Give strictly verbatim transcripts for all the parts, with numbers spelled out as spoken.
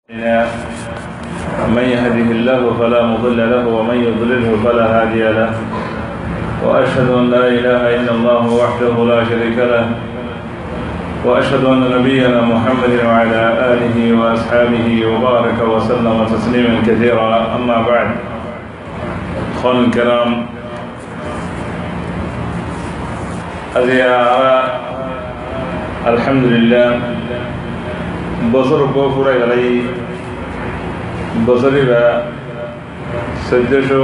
من يهده الله فلا مضل له ومن يضلله فلا هادي له وأشهد أن لا إله إلا الله وحده لا شريك له وأشهد أن نبينا محمد وعلى آله وأصحابه وبارك وسلم تسليما كثيرا. أما بعد، أخواني الكرام، أزياء الحمد لله বছর পুরা গেলাই বছরে বা চোদ্দশো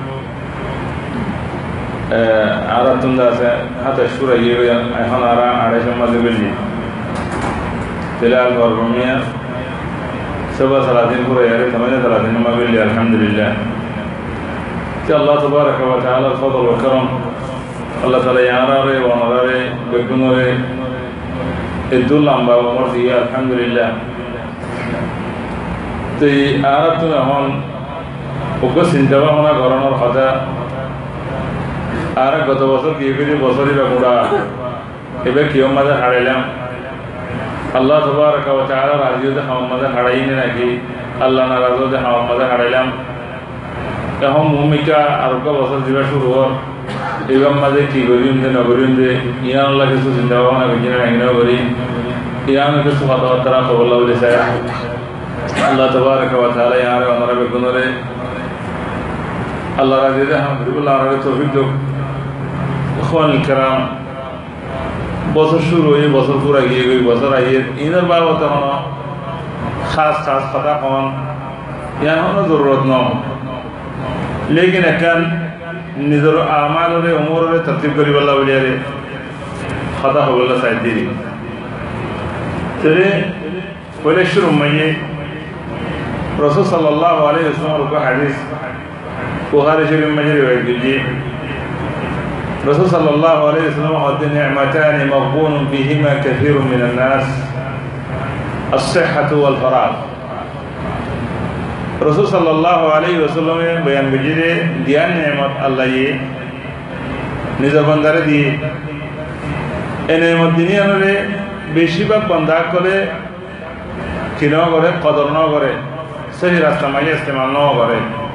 আরাতুন আছে হাতে সুরা গিয়ে এখন আর আড়াইশো মাঝে বেশি তেলাল গরমিয়া সবা সালাদিন পুরো ইয়ারে থামাইলে সালাদিন মা বেলি আলহামদুলিল্লাহ। তো আল্লাহ তাবারাকা ওয়া তাআলার ফজল ও করম, আল্লাহ তাআলা ইয়ারারে ওয়ানারে বেগুনরে এদুল লম্বা ওমর দিয়ে আলহামদুলিল্লাহ। তো এই আরাতুন এখন ওকে চিন্তা ভাবনা করানোর কথা আর গত বছর কি করে বছরই বা পুরা এবার কেউ মাঝে হারাইলাম। আল্লাহ তাবারাকা ওয়া তাআলা রাজিওতে হাওয়ার মাঝে হারাইনি নাকি আল্লাহ নারাজতে হাওয়ার মাঝে হারাইলাম। এখন ভূমিকা আর বছর দিবা শুরু হওয়ার এবার মাঝে কি করিম যে নগরিম যে ইয়ান আল্লাহ কিছু চিন্তা ভাবনা করছি না এগিয়ে করি ইয়ান কিছু কথাবার্তা খবর বলে চাই আল্লাহ তাবারাকা ওয়া তাআলা ইয়ারে আমরা বেগুনরে আল্লাহ রাজিওতে আলহামদুলিল্লাহ আমরা তৌফিক দাও। ইখওয়ানুল কিরাম, বছর শুরু হয়ে বছর পুরা গিয়ে গই বছর আইয়ে ইনার বাবদ কোনো খাস খাস কথা কন ইয়ার কোনো জরুরত ন, লেকিন এখন নিজের আমালরে উমরে তরতিব করি বল্লা বলিয়ারে কথা হবল্লা সাইড দিদি তেরে পরে শুরু মাইয়ে রাসূল সাল্লাল্লাহু আলাইহি ওয়াসাল্লামের উপর হাদিস বুখারী শরীফ মাঝে রিওয়ায়াত করেছে। রাসূল সাল্লাল্লাহু আলাইহি ওয়াসাল্লাম হতে নি'মাতান মাগবুন ফিহিমা কাসীরুম মিনান নাস as-sihhatu wal faragh। রাসূল সাল্লাল্লাহু আলাইহি ওয়াসাল্লামের বয়ান বিজিরে দিয়ান নেমত আল্লাহ ইয়ে নিজের বান্দারে দিয়ে এই নেমত দুনিয়ারে বেশিরভাগ বান্দা করে কিনো করে কদর ন করে সেই রাস্তা মাঝে ইস্তেমাল ন করে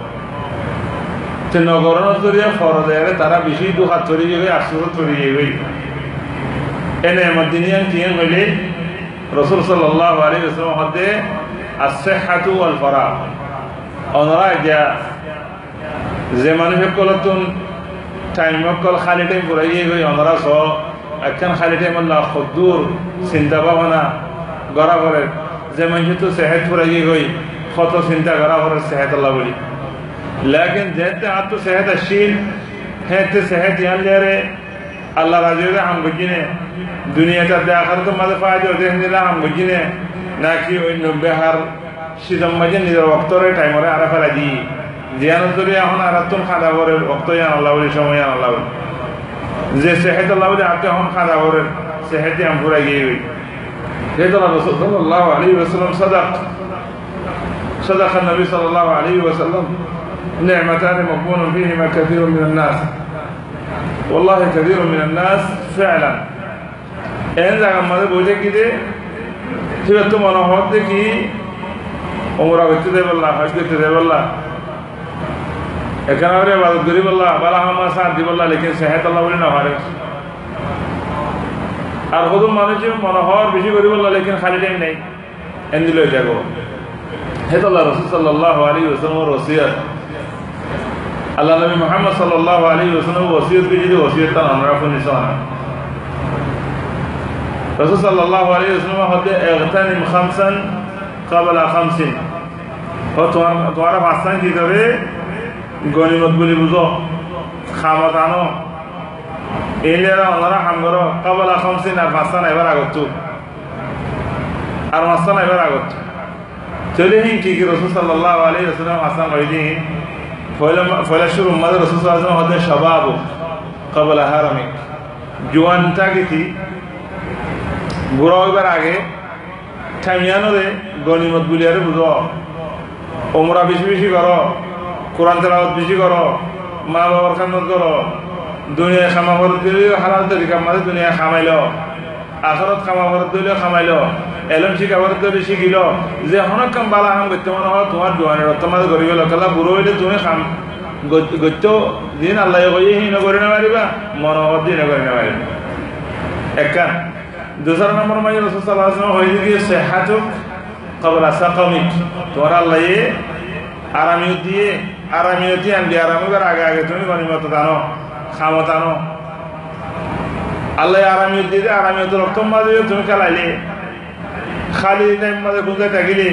নগরণের জরিয়া ফরজ এর তারা বেশি দুহাত চড়ি যাবে আশ্চর্য চড়ি যাবে এনে আমার দিনিয়ান কিয়ান হইলে রাসূল সাল্লাল্লাহু আলাইহি ওয়াসাল্লাম হতে as-sihhatu wal faragh ওনারা যা যে মানুষের কলতুন টাইম কল খালি টাইম পুরাই গই ওনারা স একখান খালি টাইম আল্লাহ খুদুর চিন্তা ভাবনা গড়া করে যে মানুষ তো সেহত পুরাই গই কত চিন্তা গড়া করে সেহত আল্লাহ বলি। लेकिन जैसे आप तो सेहत अशील है तो सेहत यान ले रहे अल्लाह राजी है हम बुझने दुनिया का आखिर तो मज़े फायदे होते हैं निला हम बुझने ना कि उन नब्बे हर शिदम मजे निजर वक्त रे टाइम रे आरा फला दी जियान तो रे हम आरा तुम खादा करे वक्त यान अल्लाह बोले समय यान अल्लाह बोले जे सेहत अल्लाह बोले आपके हम खादा करे सेहत हम पूरा ये हुई ये तो रसूल सल्लल्लाहु अलैहि वसल्लम सदक सदक नबी सल्लल्लाहु अलैहि वसल्लम نعمتان مغبون فيهما كثير من الناس والله كثير من الناس فعلا ان জায়গা মধ্যে বুঝে কি যে ঠিক তো মনে হচ্ছে কি ওমরা করতে দেব আল্লাহ হজ করতে দেব আল্লাহ এখানে আরে ইবাদত করি আল্লাহ বালা হামা সাথ দিব আল্লাহ লেকিন সেহত আল্লাহ বলে না পারে আর কত মানুষ মনে হওয়ার বেশি করি আল্লাহ লেকিন খালি টাইম নাই এন্দিল হয়ে যাবো হেত আল্লাহ রাসূল সাল্লাল্লাহু আলাইহি ওয়াসাল্লামের ওসিয়ত আল্লাহ নবী মুহাম্মদ সাল্লাল্লাহু আলাইহি ওয়াসাল্লাম ওসিয়ত কি যদি ওসিয়ত তা আমরা কোন নিশানা রাসূল সাল্লাল্লাহু আলাইহি ওয়াসাল্লাম হতে ইগতানিম খামসান ক্বাবলা খামসিন ও তোমার ভাষণ কি করে গনিমত বলি বুঝো খামত আনো এলেরা ওনারা হামগর ক্বাবলা খামসিন আর ভাষণ এবার আগত আর ভাষণ এবার আগত চলে হি কি কি রাসূল সাল্লাল্লাহু আলাইহি ওয়াসাল্লাম ভাষণ কইদি ফয়লা ফয়লা শুরু মাদ রাসূল সাল্লাল্লাহু আলাইহি ওয়াসাল্লাম হতে শাবাব ক্বাবলা হারামি জওয়ানটা কি বুড়া হইবার আগে টাইমিয়ানরে গনিমত গুলিয়ারে বুঝো ওমরা বেশি বেশি করো কোরআন তেলাওয়াত বেশি করো মা বাবার খেদমত করো দুনিয়া খামা করে দিলে হালাল তরিকা মাঝে দুনিয়া খামাইলো আখিরাত খামা করে দিলে খামাইলো এলম শিখাবার ধরে শিখিল যে হনক কাম বালা কাম করতে মনে হয় তোমার জোয়ানের তোমার গরিব লোকেলা বুড়ো হইলে তুমি খাম গত্য দিন আল্লাহ কই হিন করে না পারিবা মনোহর দিন করে না পারিবা একা দুসরা নম্বর মাঝে রাসূল সাল্লাল্লাহু আলাইহি ওয়াসাল্লাম হইছে কি সিহাতুক ক্বাবলা সাকামিক তোমার আল্লাহ আরামিয়ত দিয়ে আরামিয়ত দিয়ে আনবি আরামের আগে আগে তুমি গনিমত দানো খামত আনো আল্লাহ আরামিয়ত দিয়ে আরামিয়ত রক্তম মাঝে তুমি খেলাইলে খালি টাইম মাঝে গুঁজে থাকিলে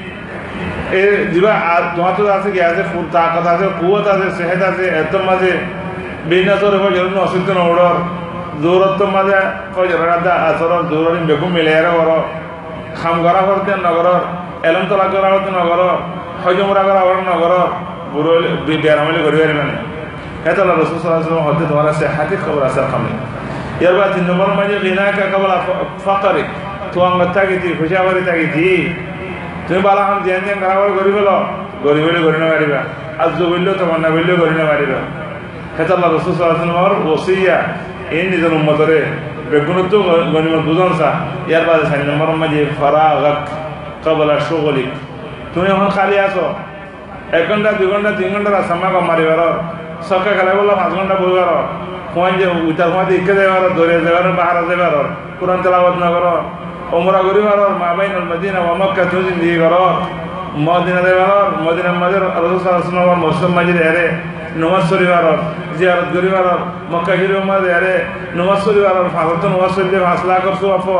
এ দিবা আর তোমার তো আছে কি আছে ফুল তাকত আছে কুয়ত আছে সেহেত আছে এত মাঝে বিনাসর হয়ে গেল অসুস্থ নড়র জোরত মাঝে কয় রাদা আসর জোরিন বেকুম মিলে আর বড় খাম করা করতে নগর এলম তোলা করা করতে নগর হজমরা করা হওয়ার নগর বুড়ো বেরামলি করি মানে হেত আল্লাহ রাসূল সাল্লাল্লাহু আলাইহি ওয়াসাল্লাম হতে তোমার আছে হাতি খবর আছে খামে এরবা তিন নম্বর মাঝে গিনাকা কবল ফাকরি তো আঙ্গ তাগিতি খুশাবারি তাগিতি তুমি বালা হাম জেন জেন খারাপ করি বলো গরিব হলে করি না পারিবা আজ বললেও তোমার না বললেও করি না পারিবা হেত আল্লাহ রাসূল সাল্লাল্লাহু আলাইহি ওয়াসাল্লাম ওসিয়া এই নিজের উম্মতরে বেগুনত গনিমত বুঝনসা ইয়ার বাদে চার নম্বর মাঝে ফারাগাক কবলা শুগলিক তুমি এখন খালি আছো এক ঘন্টা দুই ঘন্টা তিন ঘন্টা রাস্তা কম মারিবার সকাল খেলা বললাম পাঁচ ঘন্টা বইবার ফোন যে উইটার সময় ইকে যাবার ধরে যাবার বাহারা যাবার কোরআন তেলাওয়াত না করো ওমরা করিবার মা বাইনুল মদিনা ওয়া মক্কা তুমি জিন্দেগি করো মদিনা যাবার মদিনার মাঝে রাসূল সাল্লাল্লাহু আলাইহি ওয়াসাল্লাম মুসলিম মাঝে এরে নমাজ শরীফার জিয়ারত করিবার মক্কা শরীফের মাঝে এরে নমাজ শরীফার ফারত নমাজ শরীফে হাসলা করছো আপর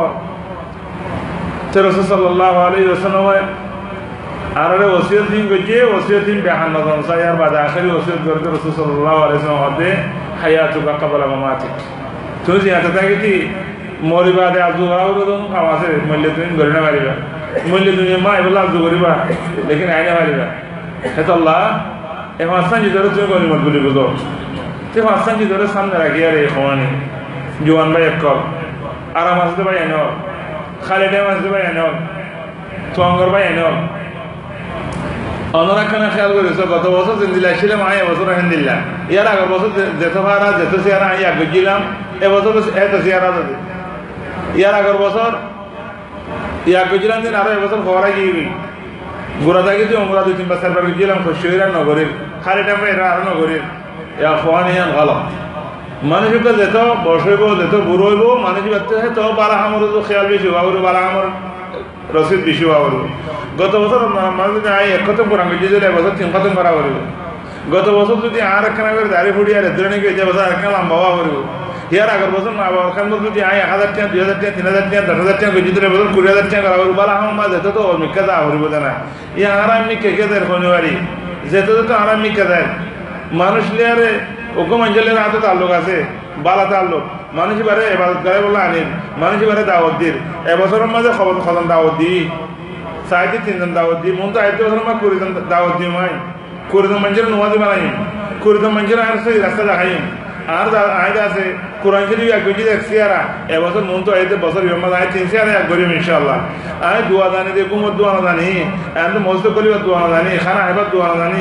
তে রাসূল সাল্লাল্লাহু আলাইহি ওয়াসাল্লাম আর আরে ওসিয়ত দিন গজে ওসিয়ত দিন বেহান নজন সায়ার বাদ আখরি ওসিয়ত করতে রাসূল সাল্লাল্লাহু আলাইহি ওয়াসাল্লাম হতে হায়াতুকা ক্বাবলা মামাতিক তুই যে আতা থাকি মরিবাদে আজু আউরদন খাওয়াছে মূল্য তুমি গরি না পারিবা মূল্য তুমি মা এবলা আজু করিবা লেকিন আইনা পারিবা হেত আল্লাহ এ হাসান জি ধরে তুমি গনিমত বলি বুঝো তে হাসান জি ধরে সামনে রাখি আর এই খওয়ানি জওয়ান ভাই একল আরাম আসতে ভাই এনো খালিদে আসতে ভাই এনো তোঙ্গর ভাই এনো অনরাখানা খেয়াল করেছো গত বছর জিন্দিলা ছিলাম আয় এবছর আলহামদুলিল্লাহ ইয়ার আগের বছর যেত ভাড়া যেত চেয়ারা আমি আগে গেলাম এবছর এত চেয়ারা যাবে ইয়ার আগের বছর ইয়া গেছিলাম দিন আরো এবছর খবরা গিয়ে গই গোড়া থাকি যে আমরা দুই তিনবার চারবার গেছিলাম শরীরা নগরীর খালি টাইমে এরা আরো নগরীর ইয়া খোয়া নিয়ে গেলাম মানুষকে যেত বসইব যেত বুড়ো হইব মানুষ ব্যক্তি তো বারা আমার খেয়াল বেশি হওয়া বারা আমার রসিদ বেশি হওয়া করবো গত বছর মানুষ আই এক খতম করা গেছে এবছর তিন খতম করা করব গত বছর যদি আর একখানা করে দাঁড়িয়ে ফুটি আর এদের নাকি যে বছর একখানা লম্বা হওয়া করব ইয়ার আগের বছর ওখান যদি আই এক হাজার টাকা দুই হাজার টাকা তিন হাজার টাকা দশ হাজার টাকা গেছি এবছর কুড়ি হাজার টাকা করা করবো বালা আমার মা যেত তো মিক্কা যা করিব না ইয়া আর আমি কেকে দেয় শনিবারই যেতে তো আর আমি মিক্কা দেয় মানুষ লিয়ারে ওকম অঞ্চলের হাতে তাল্লুক আছে বালা তাল্লুক মানুষ বারে এবার গায়ে বলে আনিন মানুষ বারে দাওয়াত দিন এবছরের মাঝে খবর খতম দাওয়াত দিই সাইডে তিনজন দাওয়াত দিই মন তো আইতে বছর মা কুড়িজন দাওয়াত দিই মাই কুড়িজন মানুষের নোয়াজি বানাই কুড়িজন মানুষের আর সেই রাস্তা দেখাই আর আইতে আছে কোরআন শরীফ এক গজি দেখছি আর এবছর মন তো আইতে বছর বিমাদ আয় তিনশি আর এক গরিব ইনশাআল্লাহ আয় দোয়া জানি দে কুমত দোয়া জানি এত মস্ত করিবার দোয়া জানি খানা হেবার দোয়া জানি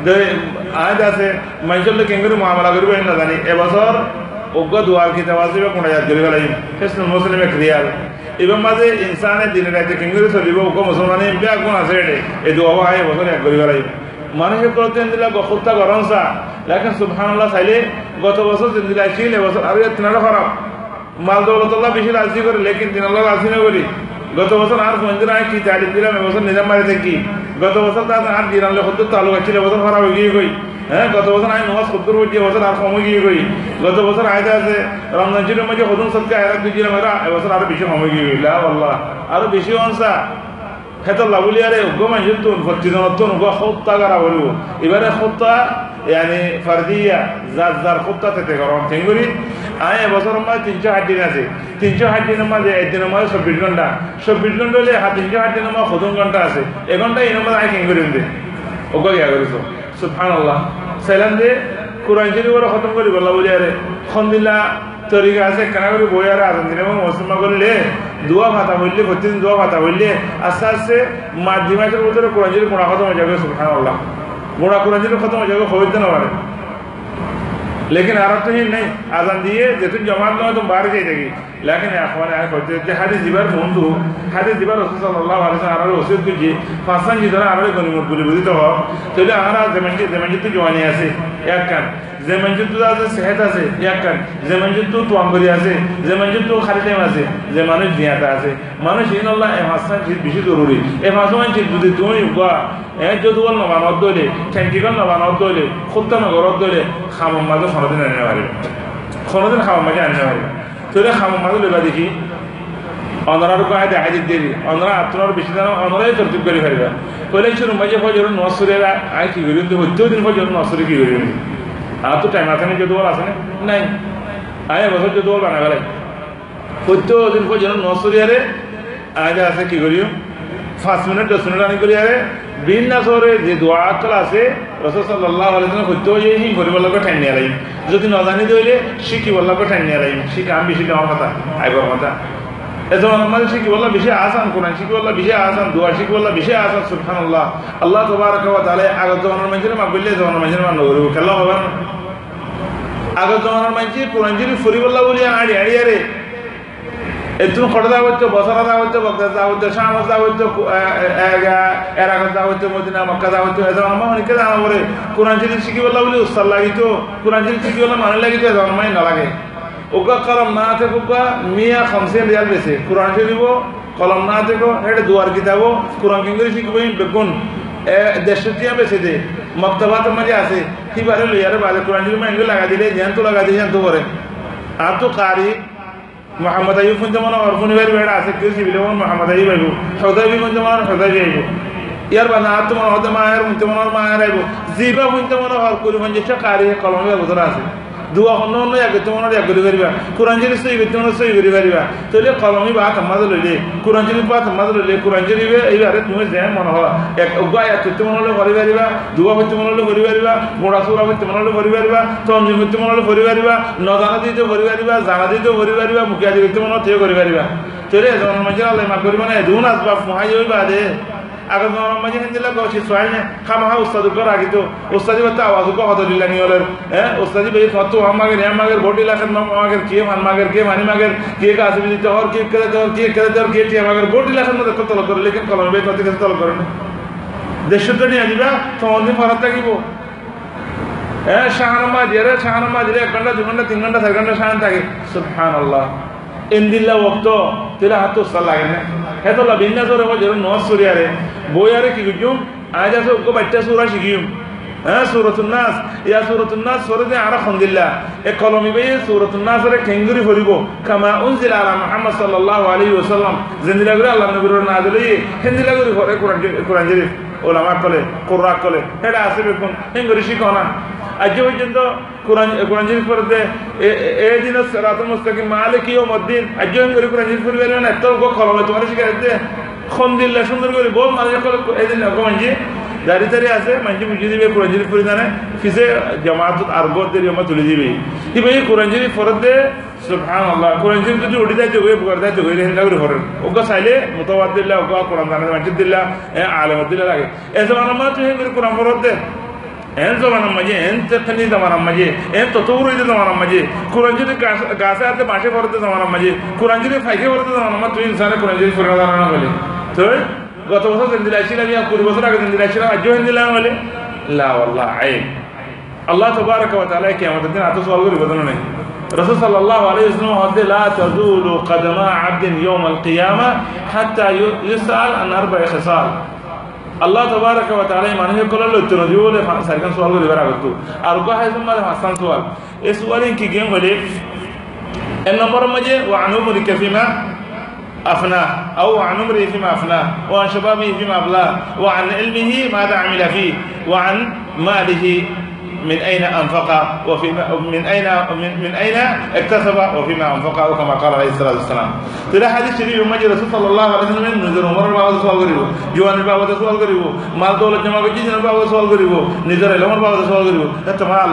আইতে আছে মানুষের লোক কেন করে মহামালা করিব না জানি এবছর অজ্ঞ দোয়ার কিতাব আসবে কোনটা ইয়াদ করিব লাগি হেসন মুসলিমে ক্রিয়াল এবং মাঝে ইনসানের দিনে রাইতে কেন করে চলিব অজ্ঞ মুসলমানে বেয়া গুণ আছে এটে এই দোয়া আয় বছর এক করিব লাগি মানুষের প্রতি দিলা গফুত্তা গরমসা লেকিন সুবহানাল্লাহ চাইলে গত বছর জিন্দিলা ছিল এবছর আর তিনারা খারাপ মাল দৌলতল্লাহ বেশি রাজি করে লেকিন তিনাল্লাহ রাজি না করি গত বছর আর মন্দির আয় কি তারিফ দিলাম এবছর নিজাম বাড়িতে কি গত বছর তার আর দিনালে সত্তর তালুক ছিল এবছর খারাপ হয়ে গিয়ে গই হ্যাঁ গত বছর আমি নমাজ সত্তর হয়েছি এবছর আর কমে গিয়ে গই গত বছর আয়তে আছে রমজান শরীফের মধ্যে হদুন সৎকে আয়াত দিয়েছিলাম এরা এবছর আরো বেশি কমে গিয়ে গই আল্লাহ আরো বেশি অংশা খেতল্লা বলি আরে উগ্র মানুষের তো প্রতিজনের তো উগ্র হত্যা করা বলব এবারে হত্যা yani ফারদিয়া যার যার হত্যা থেকে গরম ঠিক করি আয় এবছর মাঝে তিনশো ষাট দিন আছে তিনশো ষাট দিনের মাঝে একদিনের মাঝে চব্বিশ ঘন্টা চব্বিশ ঘন্টা হলে তিনশো ষাট দিনের মাঝে সত্তর ঘন্টা আছে এ ঘন্টা এই নম্বর আয় কেন করি দে ওকে গিয়া করিস সুবহানাল্লাহ সাইলাম দে কোরআন শরীফ করে খতম করি বলা বলি আরে খন্দিল্লা তরিকা আছে কেনা করে বই আর আজান দিনে এবং মুসলমান করলে দোয়া ভাতা হইলে প্রতিদিন দোয়া ভাতা হইলে আস্তে আস্তে মাধ্যমিকের ভিতরে কোরআন শরীফ কোরআন খতম হয়ে যাবে সুবহানাল্লাহ গোড়া কোরআন শরীফ খতম হয়ে যাবে হইতে না পারে लेकिन आरब तो ही नहीं आजान दिए जैसे जमात में तुम बाहर जाए जाएगी लेकिन अखबार आए कहते थे हादिस दिबार फोन तो हादिस दिबार रसूल सल्लल्लाहु अलैहि वसल्लम आरारे वसीयत कीजिए फासान जितना आरारे गनीमत बुली बुली तो हो तो आरा जमान जी जमान जी तो जवानी आसे एक कान जमान जी तो आसे सेहत आसे एक कान जमान जी तो तुआंगरी आसे जमान जी तो खाली टाइम आसे जमाने जियाता आसे मानुष इन अल्लाह ए फासान जी बिशी जरूरी ए फासान जी बुद्धि तुम युगा ए जो दुआल नवानत दोले ठंकीगल नवानत दोले खुद का नगरत दोले खाम माज़ो खानों आने वाले खानों दिन खाम माज़े आने वाले तो ये खाम माज़ो लेगा देखी अनरार को आए हाजिर देरी अनरा अतुनार बिशी जाना अनरा ये तरतीब करी करेगा पहले शुरू मजे फजर नौसुरेगा आए की करियो तो होते दिन फजर नौसुरे की करियो आप तो टाइम आते नहीं जो दुआल आते नहीं आए बस जो दुआल बना गया होते दिन फजर नौसुरे आरे आए जासे की करियो पाँच मिनट दस मिनट आने को लिया रे बिन ना सोरे जे दुआ क्लासे रसूल सल्लल्लाहु अलैहि वसल्लम खुद तो ये ही गरीब वालों को ठहरने वाला है जो दिन नौजानी दो ले शिकी वालों को ठहरने वाला है शिक आम बिशी काम होता आई बात होता ऐसा हमारे शिकी वाला बिशी आसान कुरान शिकी वाला बिशी आसान दुआ शिकी वाला बिशी आसान सुब्हान अल्लाह अल्लाह तबारक व तआला अगर तो हमारे मंजिल में बिल्ले तो हमारे मंजिल में लोग रो कल्ला होगा अगर तो हमारे मंजिल कुरान जिल फुरी वाला बोलिए आड़ी आड़ी अरे इतना खड़ा दावत तो बसरा दावत तो बगदाद दावत तो शाम दावत तो इराक दावत तो मदीना मक्का दावत तो ऐसा हम उनके दाम बोले कुरान शरीफ शिकी वाला बोले उस साल लगी तो कुरान शरीफ शिकी वाला मानने लगी तो ऐसा हम ही न लगे उनका कलम ना थे उनका मियाँ खमसे रियाल बेचे कुरान शरीफ वो कलम ना थे को हेड दुआर किताबो कुरान की इंग्लिश की वही बेगुन देशटियाँ बेचे थे मक्तबा तो मजे आसे ही बारे ले यार बारे कुरान शरीफ में इंग्लिश लगा दिले जान तो लगा दिले जान तो बोले आप तो कारी मोहम्मद अयूब फुन जमाना और फुन वेर वेड़ा आसे किसी भी लोगों मोहम्मद अयूब आयु हुदैबी फुन जमाना हुदैबी आयु यार बना आत्म होते मायर फुन जमाना मायर आयु जीबा फुन जमाना और कुल फुन जितना कार्य कलम में गुजरा आसे दुआ होने होने या कितने होने या गुरी करीबा कुरान जरी से कितने होने से गुरी करीबा तो ये कलमी बात हम मदद ले कुरान जरी बात हम मदद ले कुरान जरी वे ये बारे तुम्हें जैन मन हो एक उगा या कितने होने गुरी करीबा दुआ कितने होने गुरी करीबा मोड़ा सूरा कितने होने गुरी करीबा तो हम जिम कितने होने गुरी करीबा नौजाना दी तो गुरी करीबा जाना दी तो गुरी करीबा मुखिया दी कितने होने तो गुरी करीबा तो ये जवान मजरा ले माँ गुरी मने दून असबाब मुहाई हुई बात है अगर जवान मजे हिंदी लगा उसी स्वाल ने हम हाँ उस्ताद ऊपर आगे तो उस्तादी बता आवाज़ को हाथ दिला नहीं वाले हैं उस्तादी भाई तो हम मगर हम मगर बोटी लाखन मगर किए मान मगर किए मानी मगर किए का आसिफ जीते और किए करे तो किए करे तो किए किए मगर बोटी लाखन में देखो तो लोग लेकिन कलम में तो कैसे तो लोग करें देश तो नहीं आजीबा तो उन्हें फरक था कि वो हैं शाहनमा जेरे शाहनमा जेरे एक घंटा दो घंटा तीन घंटा चार घंटा शांत था कि सुब्हान अल्लाह इन दिल्ला वक्तो तेरा हाथ तो सल्ला है है तो लबिन्ना जो रहो जरूर नौ सूर्य रे वो यार की क्यों आज ऐसे उनको बच्चे सूरा शिकियूं हाँ सूरतुन्नास या सूरतुन्नास सूरत आरा खंदिल्ला एक कलमी भाई सूरतुन्नास रे केंगुरी फरिगो कमा उनजिल अला मुहम्मद सल्लल्लाहु अलैहि वसल्लम जिंदगी लगे अल्लाह नबी रो नाज़िली हिंदी लगे फरे कुरान कुरान शरीफ उलमा कले कुर्रा कले हेडा आसे बेकुन हिंगुरी शिकोना आज पर्यंत कुरान कुरान शरीफ पढ़ते ए दिन सिरातुल मुस्तकीम मालिक यौमिद्दीन आज हिंगुरी कुरान शरीफ पढ़वे ना तो को कलमे तुम्हारे शिकायते खंदिल्ला सुंदर করে बहुत मालिक को ए दिन को मंजी दारी दारी आसे मंजी मुझे भी कुरान शरीफ पढ़ी जाने किसे जमात आरगो तेरी हम तुले जीवी कि भाई कुरान शरीफ पढ़ते सुभान अल्लाह कुरान शरीफ जो उड़ी जाए जो वे पढ़ता जो वे हिंदा को पढ़ ओका साइले मुतवद्दिल्ला ओका कुरान जाने मंजिल दिल्ला ए आलम दिल्ला लगे ऐसे मानो मत है मेरे कुरान पढ़ते एन ज़माना मजे एन तकनी ज़माना मजे एन ततुर इधर ज़माना मजे कुरान शरीफ गासा आते माशे पढ़ते ज़माना मजे कुरान शरीफ फाइके पढ़ते ज़माना मत तो इंसान कुरान शरीफ पढ़ना जाना बोले तो गत बছর জিন্দিলাশি লাগে কুড়ি বছর আগে জিন্দিলাশি আজও হিন্দিলাম বলে লা ওয়াল্লাহ আইব আল্লাহ তাবারক ওয়া তাআলা কিয়ামতের দিন আতো সওয়াল করিব না নাই রাসূল সাল্লাল্লাহু আলাইহি ওয়াসাল্লাম হদে লা তাজুলু কদমা আবদিন ইয়াউমাল কিয়ামা হাত্তা ইউসাল আন আরবা'i খিসাল আল্লাহ তাবারক ওয়া তাআলা মানুষের কলল উত্তর দিব বলে সারকান সওয়াল করিব আগত আর গো হাইসম মানে হাসান সওয়াল এই সওয়ালিন কি গেম বলে এক নম্বর মজে ওয়া আনুমরি কাফিমা أفناه أو عن عمره فيما أفناه وعن شبابه فيما أبلاه وعن علمه ماذا عمل فيه وعن ماله من أين أنفق وفيما من أين من, من أين اكتسب وفيما أنفق كما قال عليه الصلاة والسلام. ترى حديث شريف مجد رسول صلى الله عليه وسلم نزل عمر الباب سوال كريبو جوان الباب سوال كريبو مال دولة جمع بجيز الباب سوال كريبو نزل العمر الباب سوال كريبو